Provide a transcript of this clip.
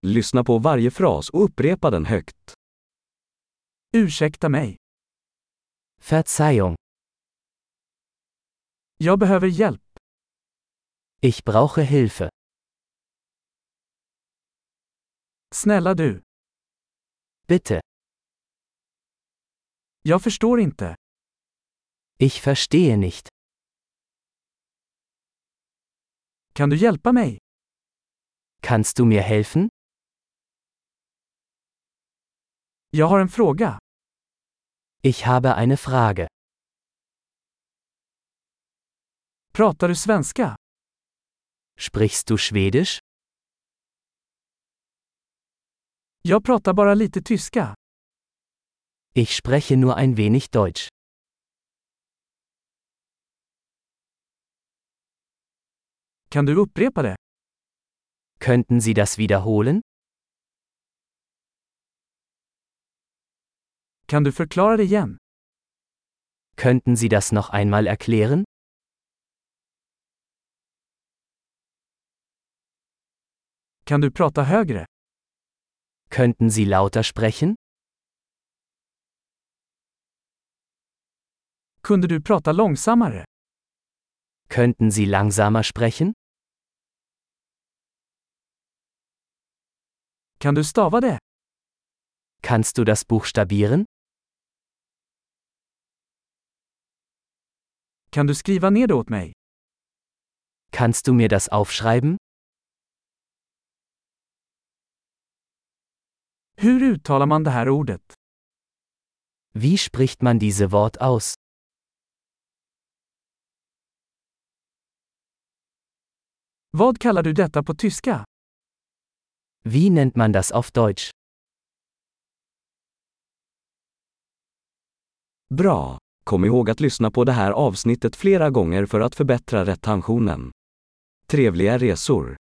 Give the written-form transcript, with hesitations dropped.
Lyssna på varje fras och upprepa den högt. Ursäkta mig. Verzeihung. Jag behöver hjälp. Ich brauche Hilfe. Snälla du. Bitte. Jag förstår inte. Ich verstehe nicht. Kan du hjälpa mig? Kannst du mir helfen? Jag har en fråga. Ich habe eine Frage. Pratar du svenska? Sprichst du Schwedisch? Jag pratar bara lite tyska. Ich spreche nur ein wenig Deutsch. Kan du upprepa det? Könnten Sie das wiederholen? Kan du förklara det igen? Könnten Sie das noch einmal erklären? Kan du prata högre? Könnten Sie lauter sprechen? Kunde du prata långsammare? Könnten Sie langsamer sprechen? Kan du stava det? Kannst du das buchstabieren? Kan du skriva ner det åt mig? Kannst du mir das aufschreiben? Hur uttalar man det här ordet? Wie spricht man diese Wort aus? Vad kallar du detta på tyska? Wie nennt man das auf Deutsch? Bra! Kom ihåg att lyssna på det här avsnittet flera gånger för att förbättra retentionen. Trevliga resor!